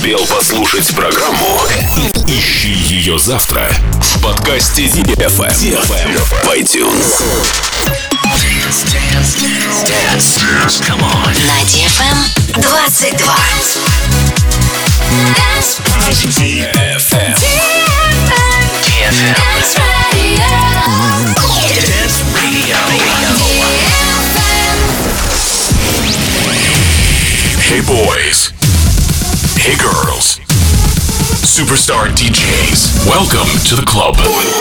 успел послушать программу, ищи ее завтра в подкасте DFM в iTunes. Dance. Come on. На DFM 22. DFM. Dance Radio. Dance Radio. Hey boys. Hey girls. Superstar DJs. Welcome to the club.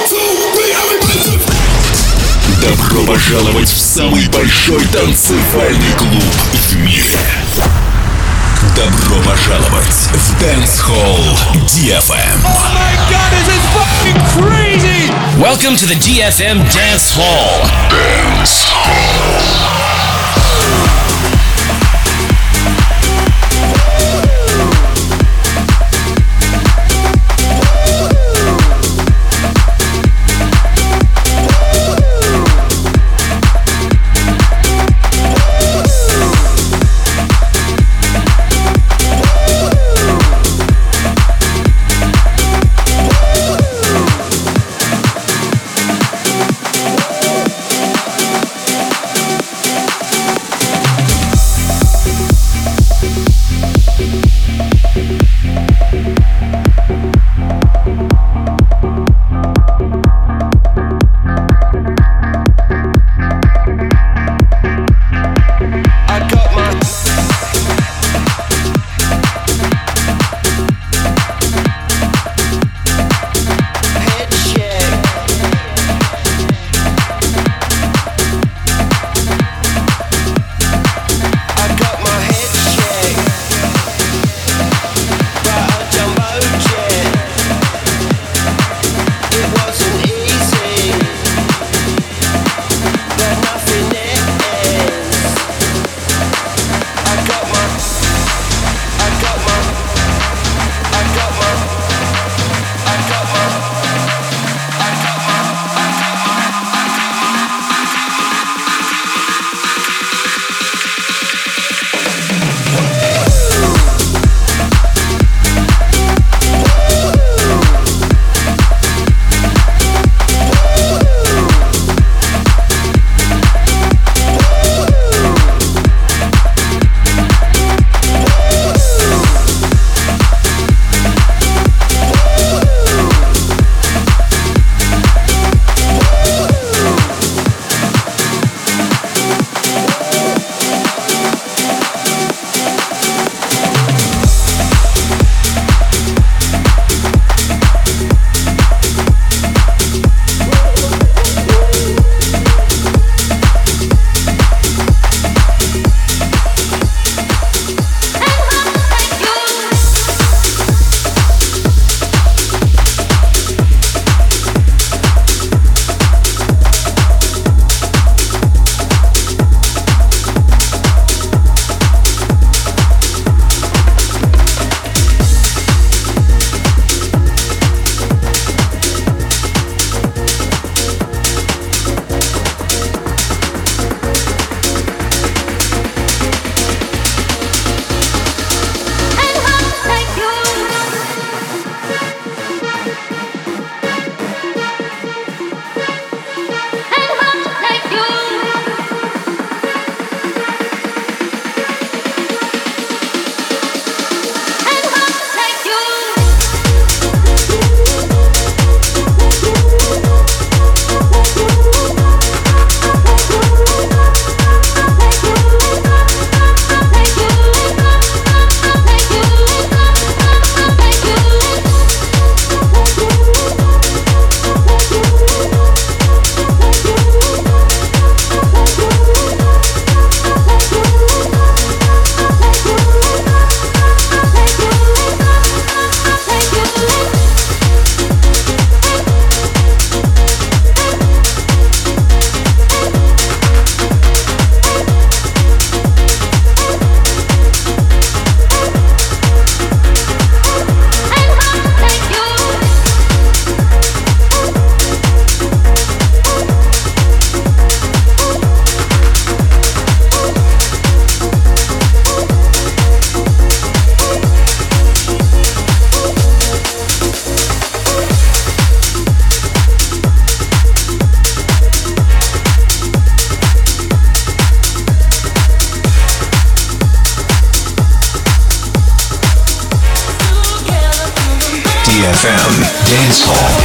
Добро пожаловать в самый большой танцевальный клуб в мире. Добро пожаловать в Dance Hall DFM. Oh my God, this is fucking crazy! Welcome to the DFM Dance Hall. Dance Hall. Dance Hall.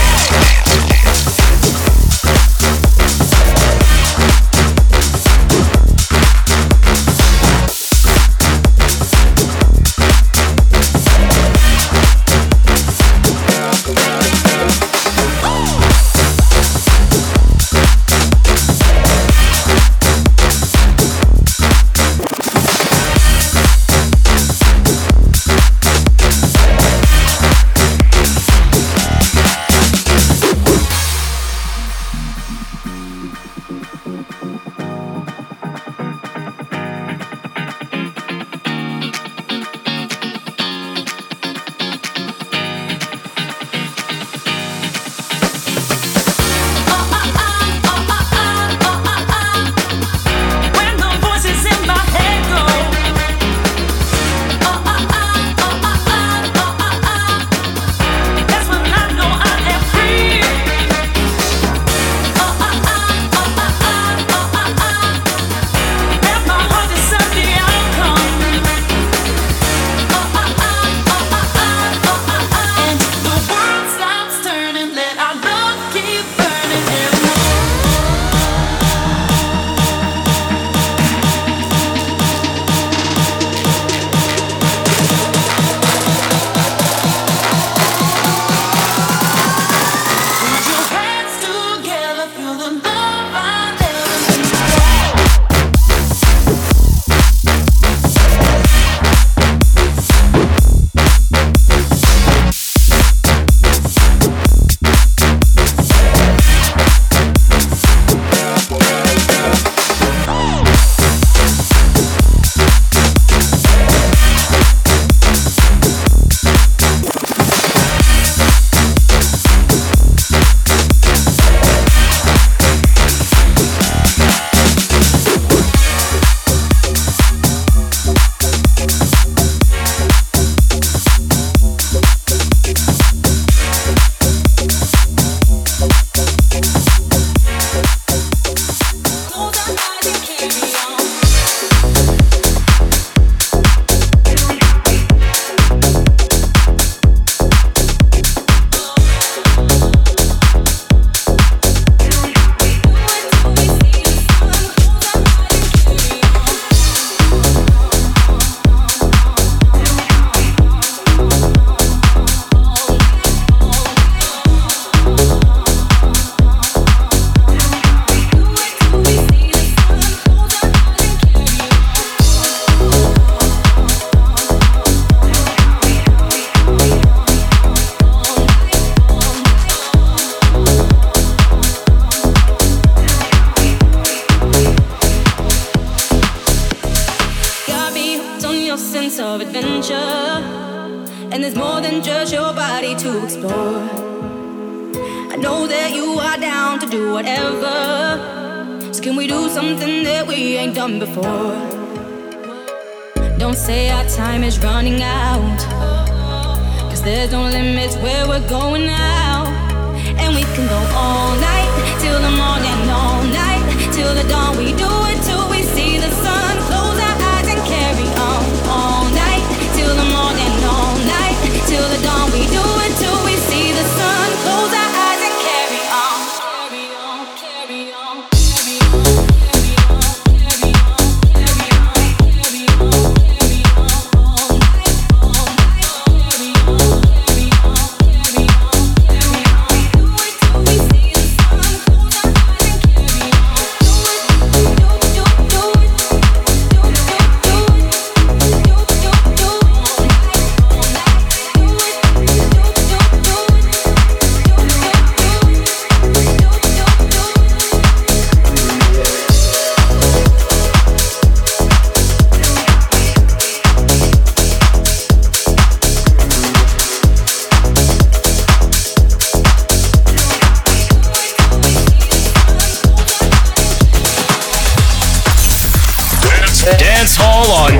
Dance Hall on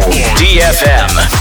DFM.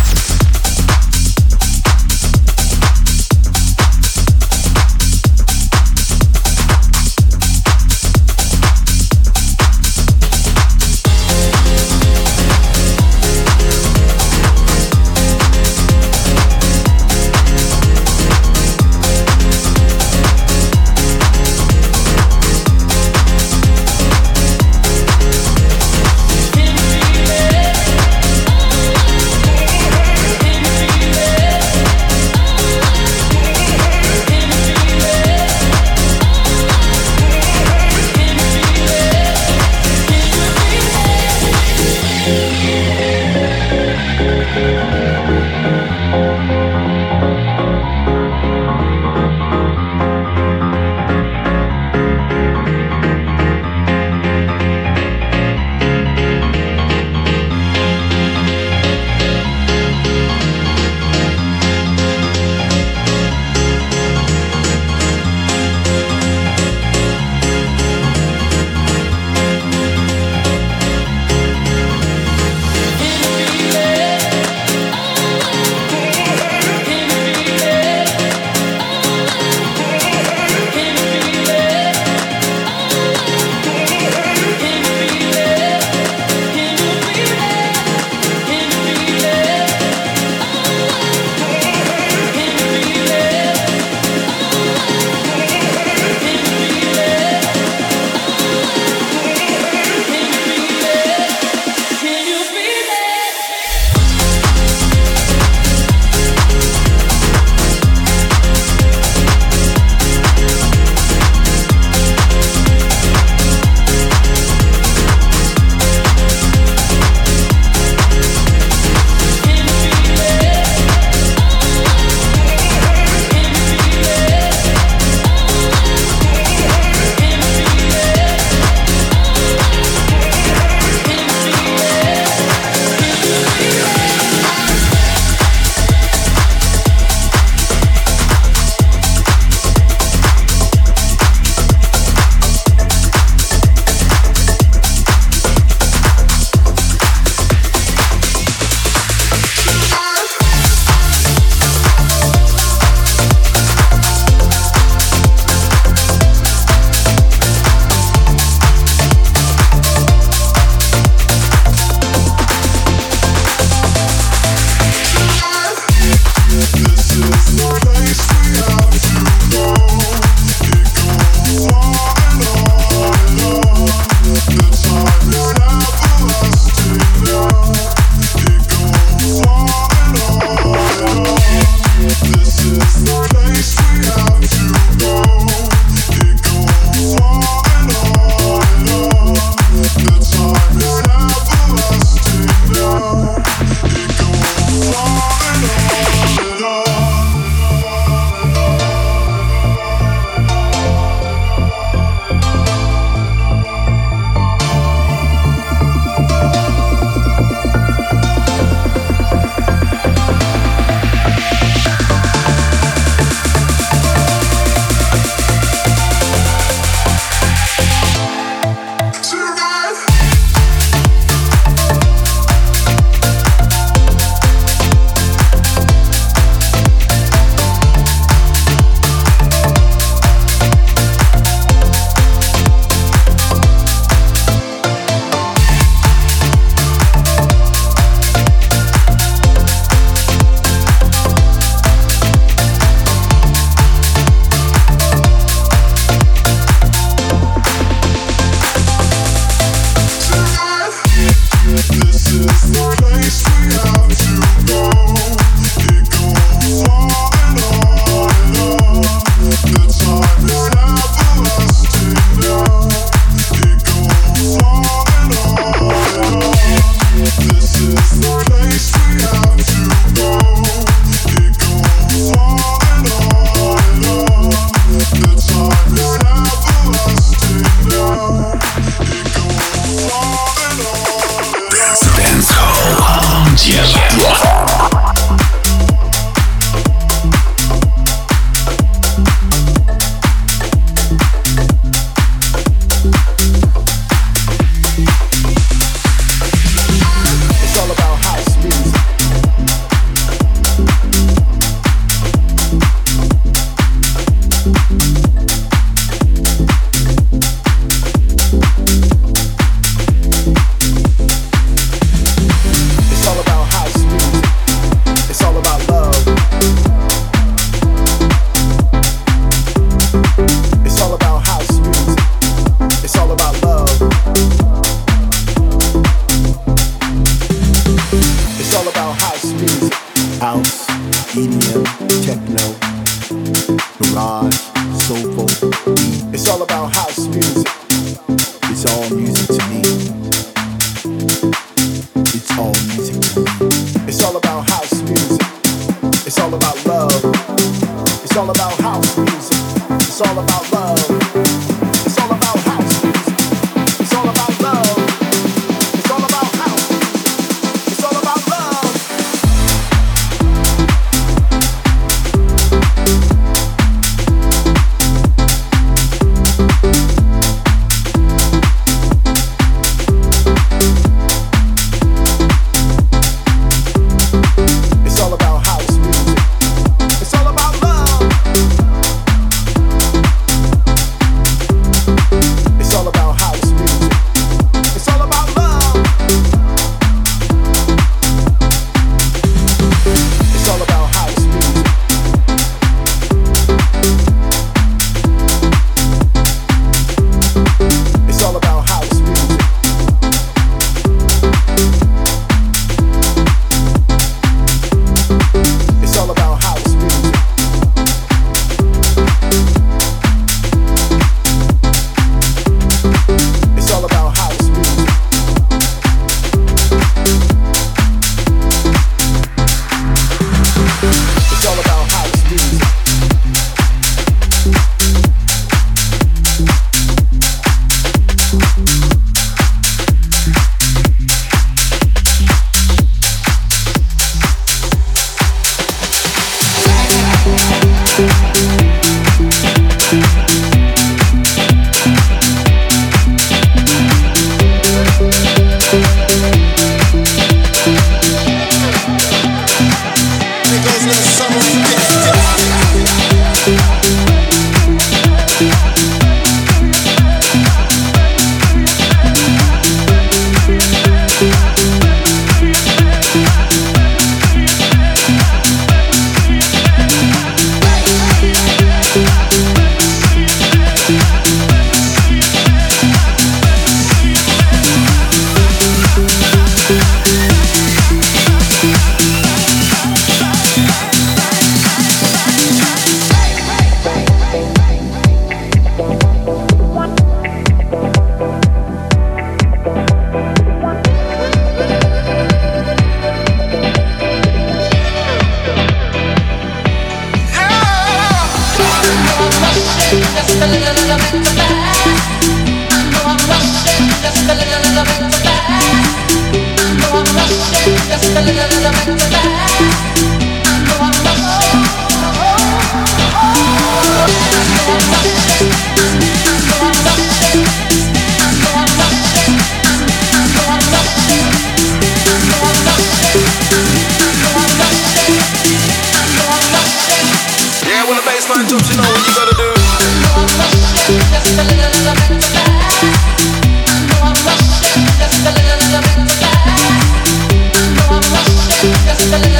Just a little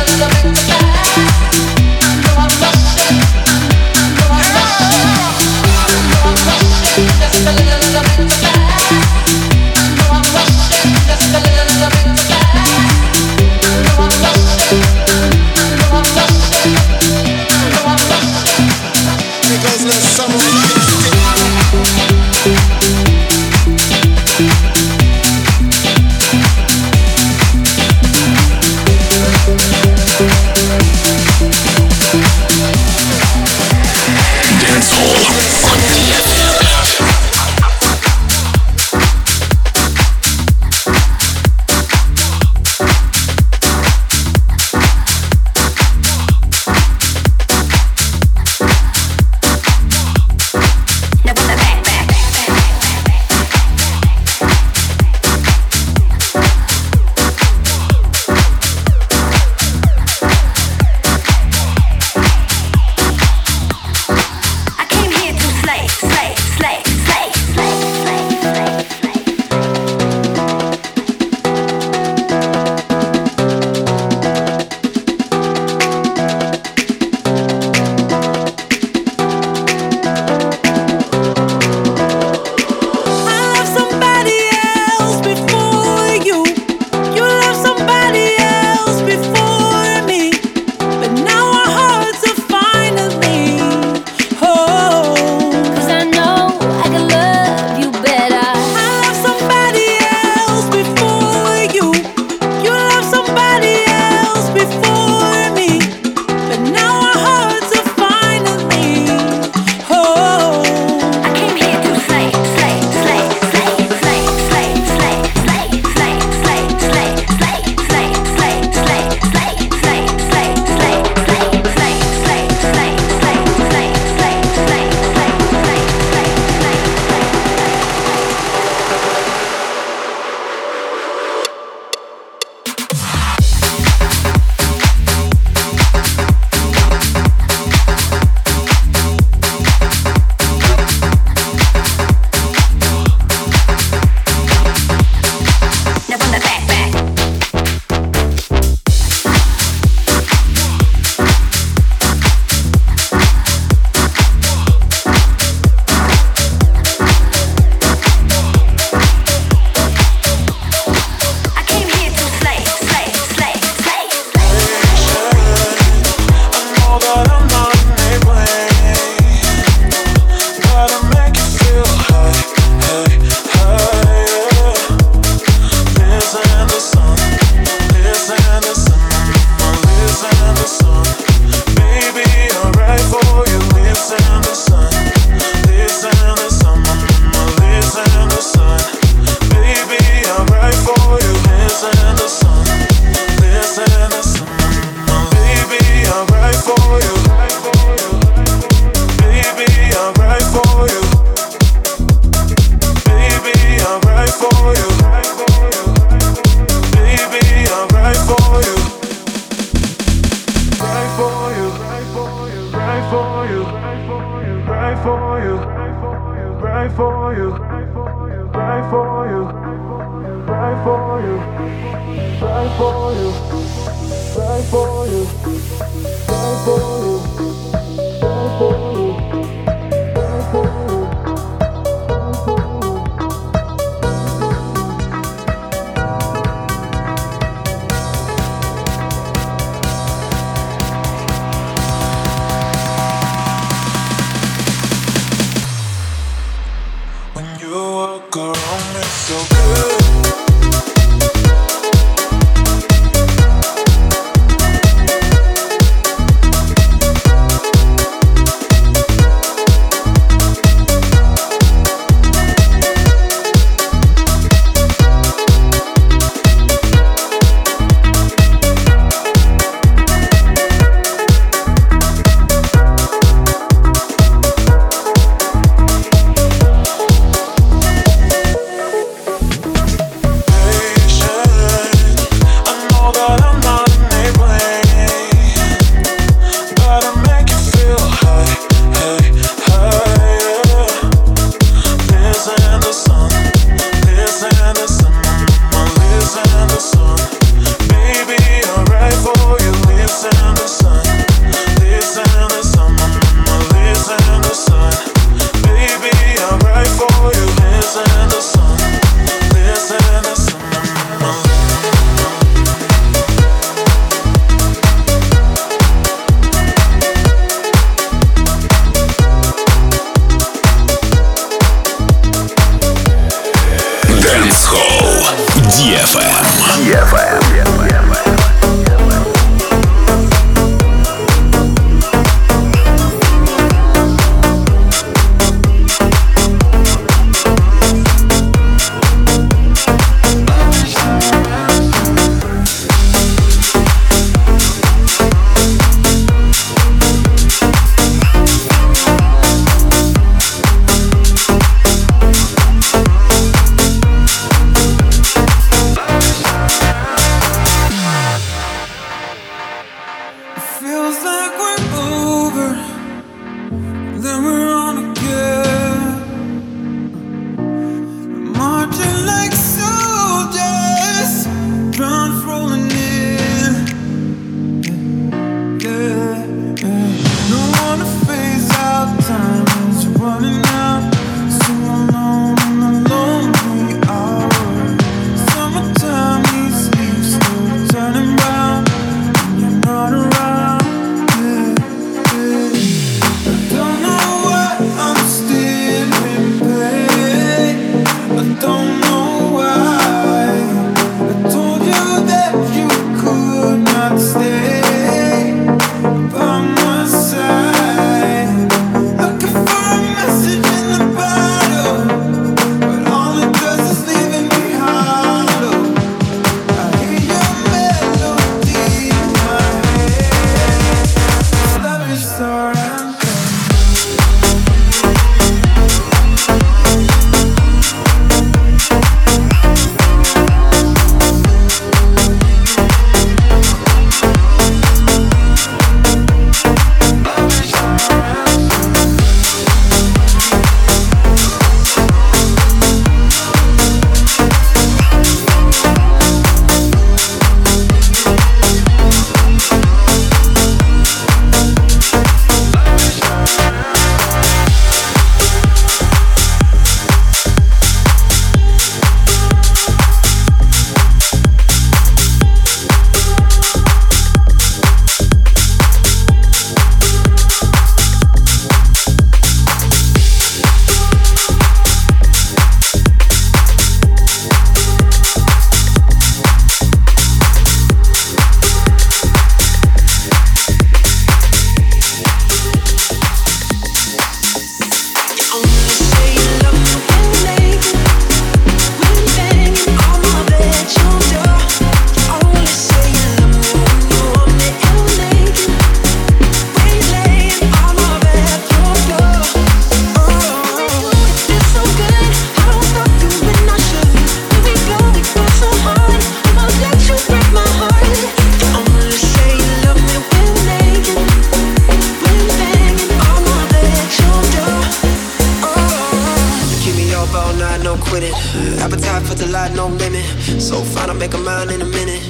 light, no limit. So fine, I'll make her mine in a minute.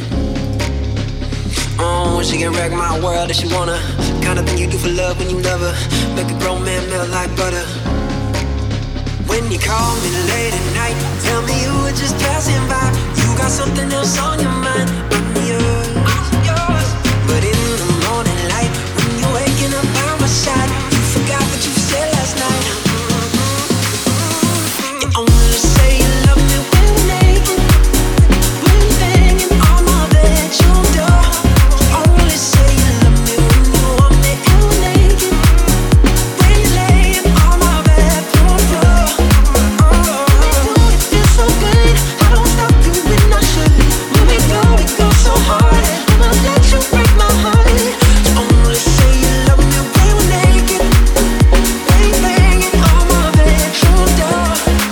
Oh, she can wreck my world if she wanna. Kind of thing you do for love when you love her. Make a grown man melt like butter. When you call me late at night, tell me you were just passing by. You got something else on your mind. I'm yours. But in the morning light, when you're waking up by my side, you forgot what you said last night. You only say you love me when we're naked, when you're banging on my bedroom door. You only say you love me when you want me and we're naked, when you're laying on my bedroom floor. It feels so good, I don't stop you when I should. When we go so hard, and I'll let you break my heart. You only say you love me when we're naked, when you're banging on my bedroom door.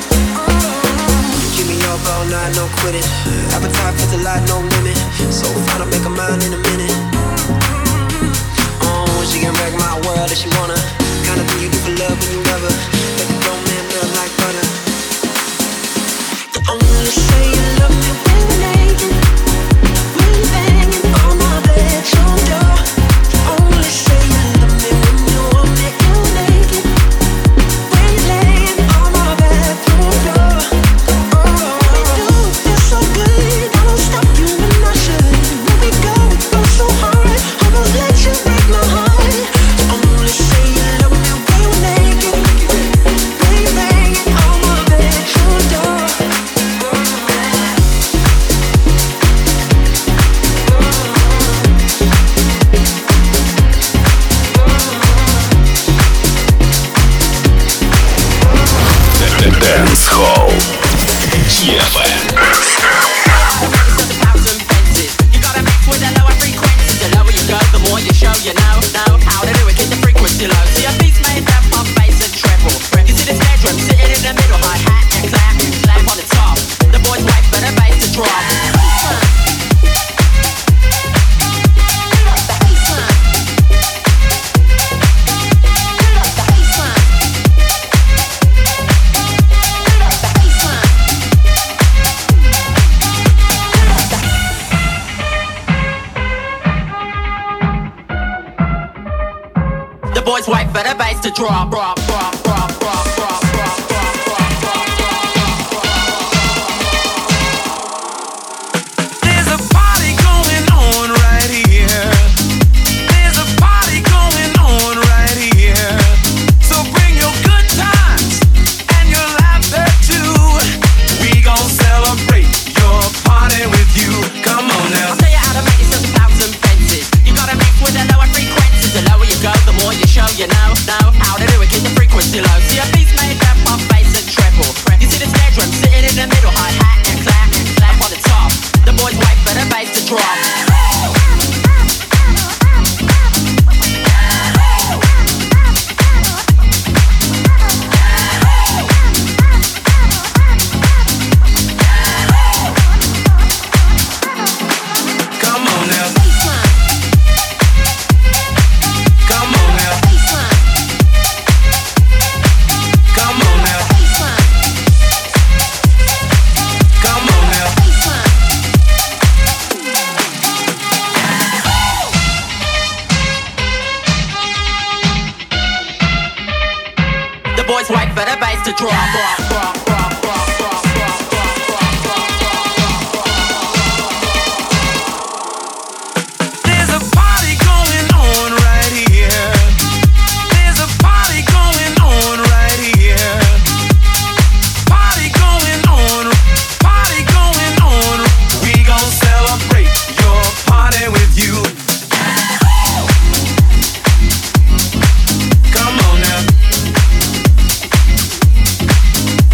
Keep me up all night, no quitting. Appetite for the light, no limit. So fine, I'll make her mine in a minute. Oh, she can wreck my world if she wanna. Kind of thing you do for love when you love her. Make a grown man melt like butter. You only say you love me when we're naked, when you're banging on my bedroom door. You only say you love me when you want me and we're naked, when you're laying on my bedroom floor. It feels so good, I don't stop you when I should. When we go so hard, I won't let you break my heart. You only say you love me when we're naked, when you're banging on my bedroom door. Dance Hall. DFM. You gotta mix with the lower frequencies. The lower you go, the more you show you know how to do it. Keep the frequency low. See a beat's made up of bass and treble. You see the snare drum sitting in the middle, hi hat and clap on the top. The boys wait for the bass to drop. The boys wait for the bass to drop, drop, drop, drop, drop, drop, drop, drop, drop, drop, drop. There's a party going on right here. There's a party going on right here. So bring your good times and your laughter too. We gon' celebrate your party with you. Come on now. I'll tell you how to make yourself 1,000 fences. You gotta mix with the lower frequencies. The lower you go, the more you show you know how to do it. Keep the frequency low. See a beat's made up of bass and treble. You see the snare drum sitting in the middle, hi hat and clap on the top. The boys wait for the bass to drop. Come on now. Come on now. Come on now. Come on now. The boys wait for the bass to drop. Drop, drop, drop, drop, drop, drop, drop, drop, drop, drop, drop. There's a party going on right here. There's a party going on right here. Party going on. Party going on. We gon' celebrate your party with you. Come on now.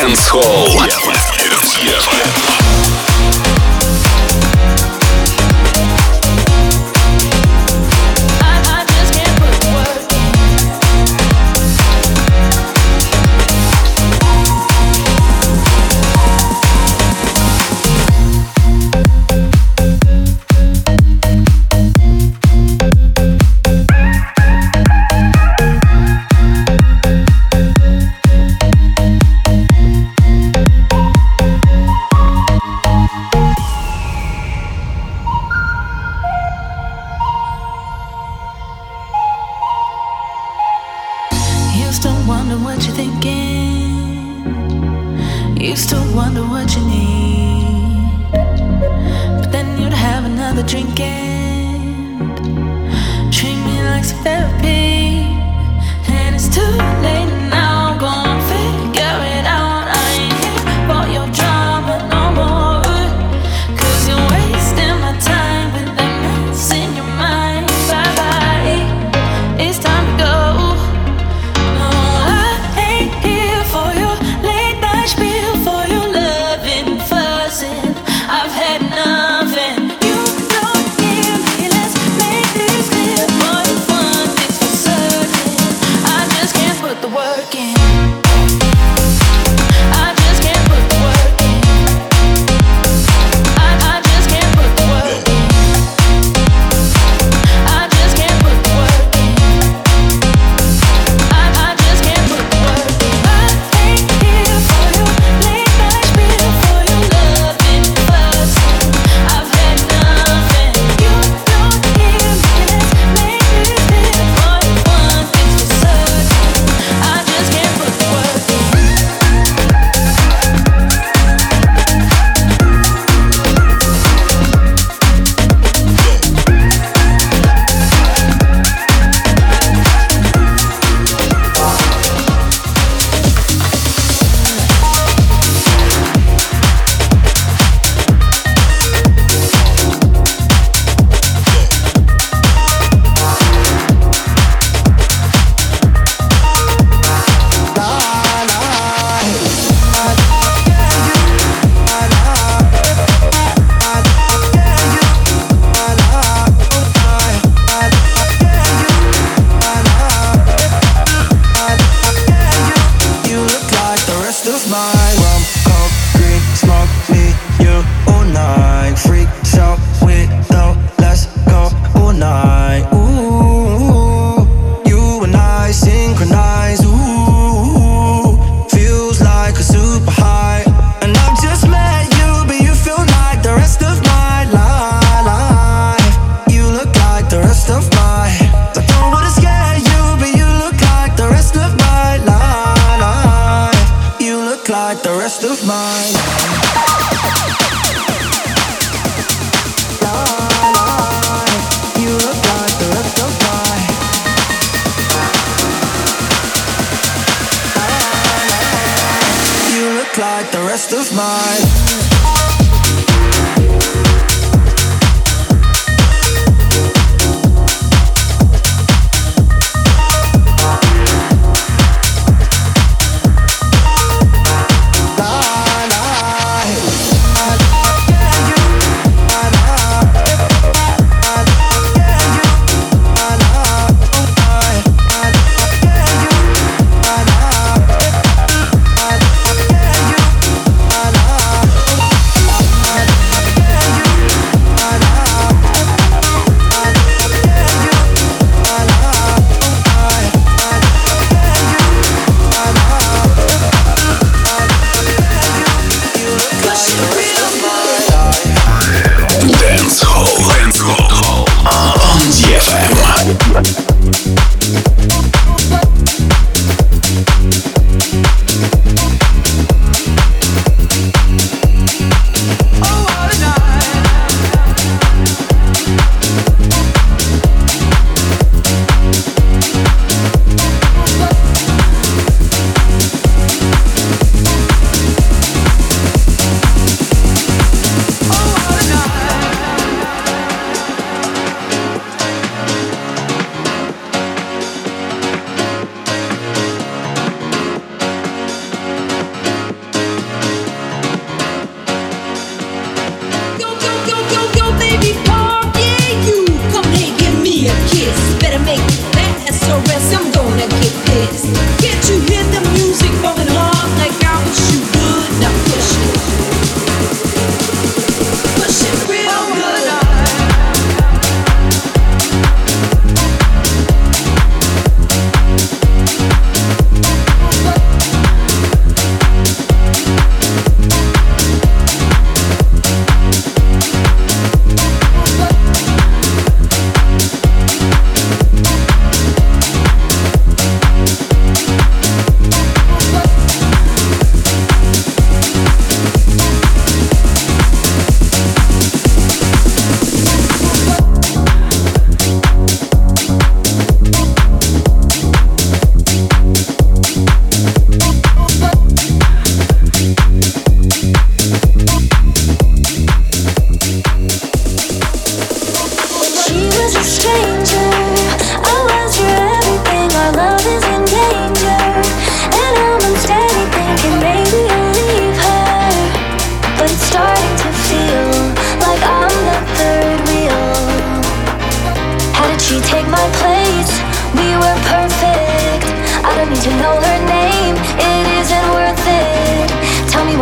Dance Hall.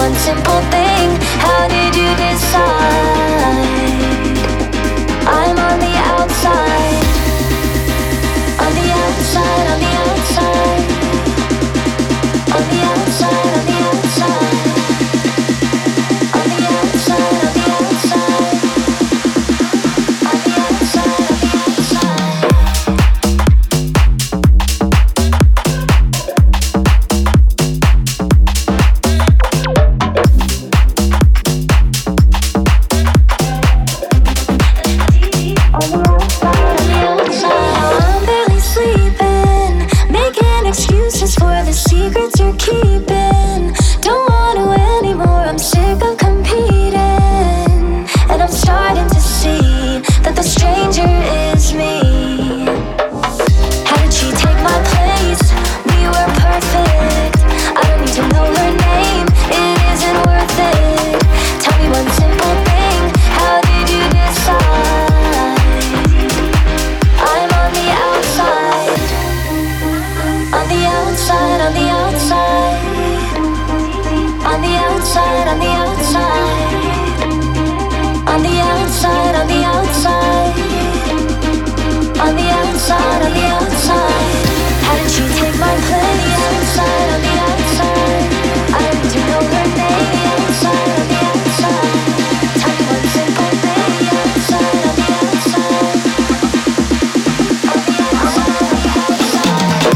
one simple thing. How did you decide? I'm on the outside. On the outside, on the outside. On the outside, on the outside. On the outside, on the outside. On the outside, on the outside. I'm barely sleeping, making excuses for the secrets you're keeping. Don't want to anymore, I'm sick of competing. And I'm starting to see that the stranger is me. How did she take my place? We were perfect. I don't need to know her name, it isn't worth it. Tell me one simple thing, how did you decide? I'm on the outside. On the outside, on the outside. On the outside, on the outside. On the outside, on the outside. On the outside, on the outside. How did she take my place? Outside, on the outside. I don't need to know her name. Outside, on the outside. Tell me one simple thing. Outside, on the outside. On the outside, on the outside.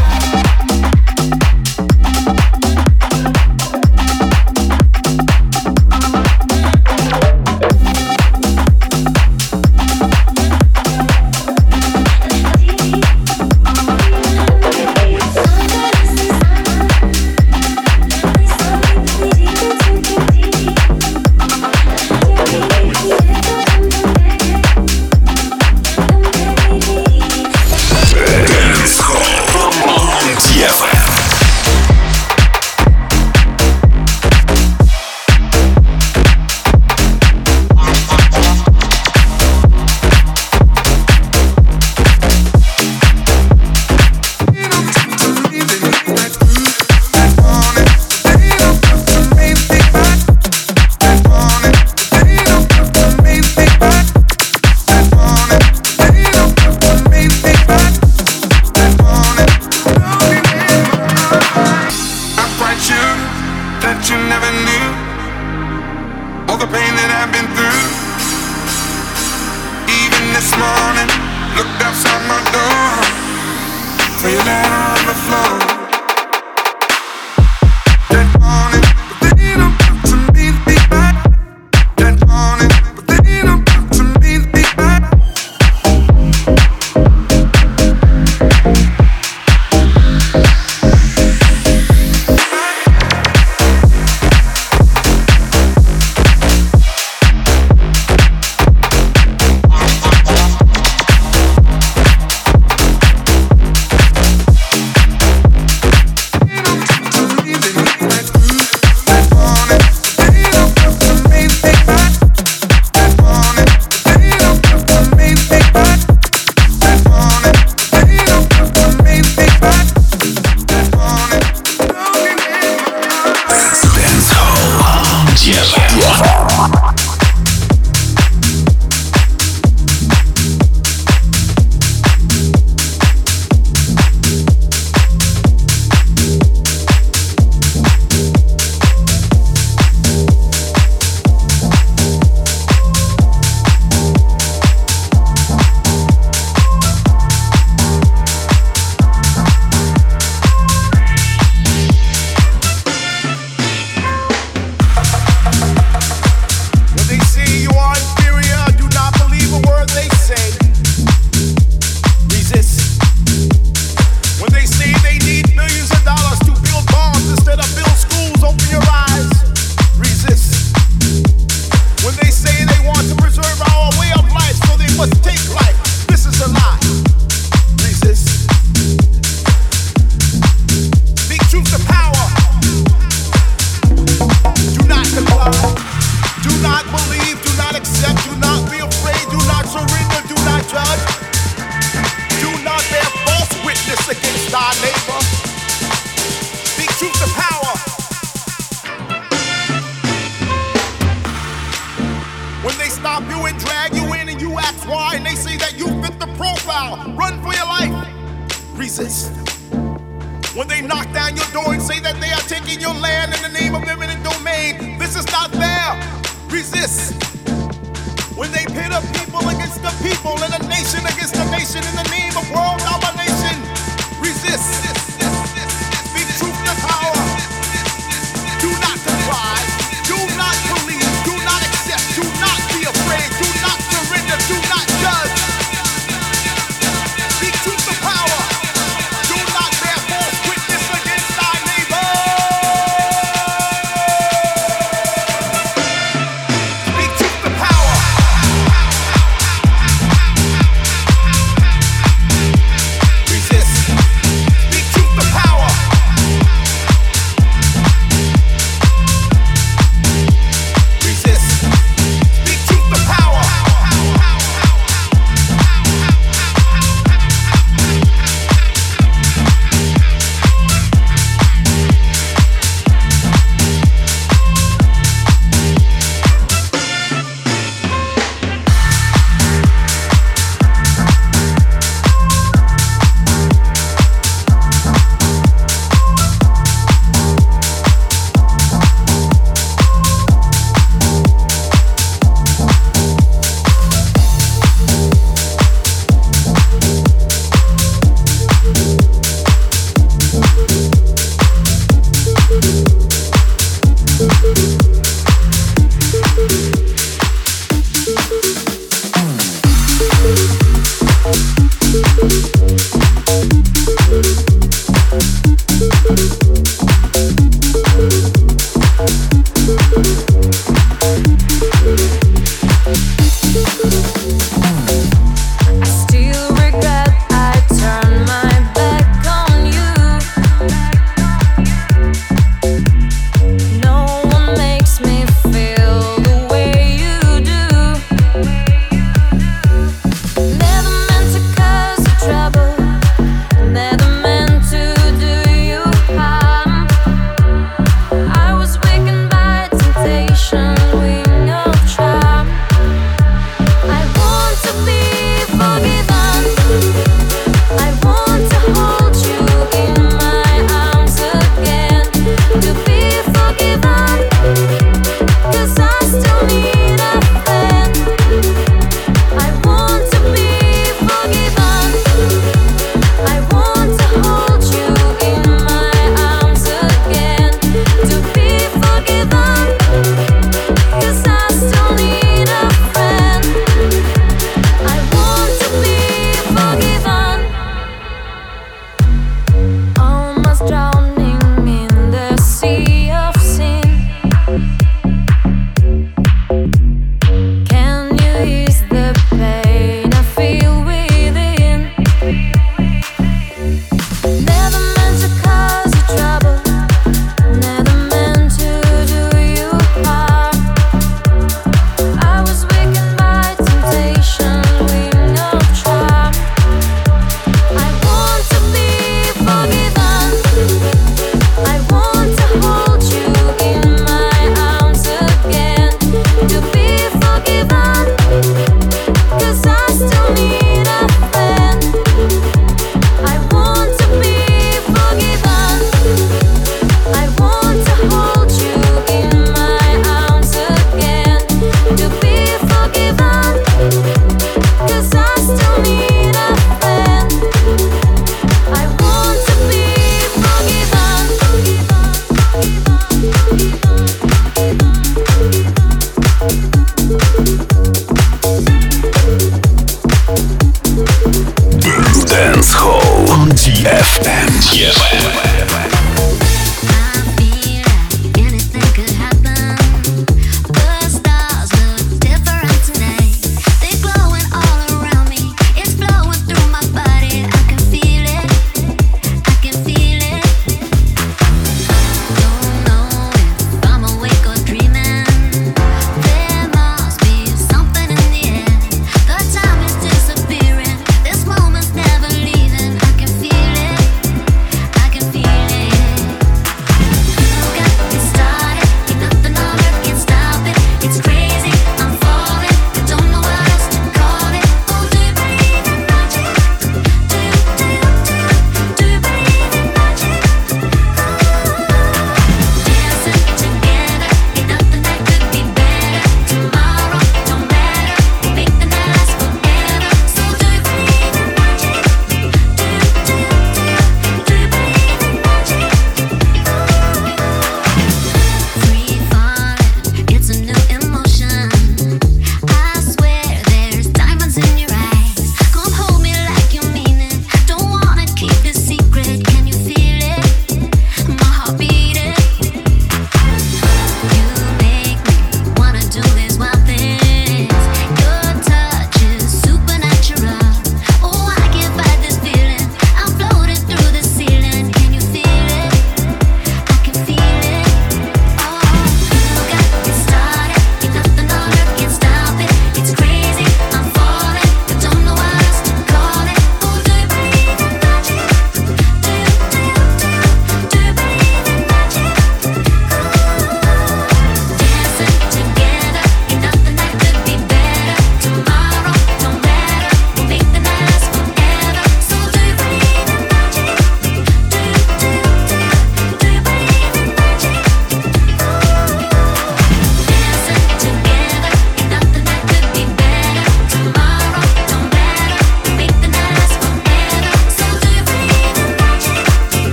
and drag you in and you ask why, and they say that you fit the profile. Run for your life. Resist. When they knock down your door and say that they are taking your land in the name of eminent domain, this is not fair. Resist. When they pit a people against the people and a nation against a nation in the name of world domination, resist.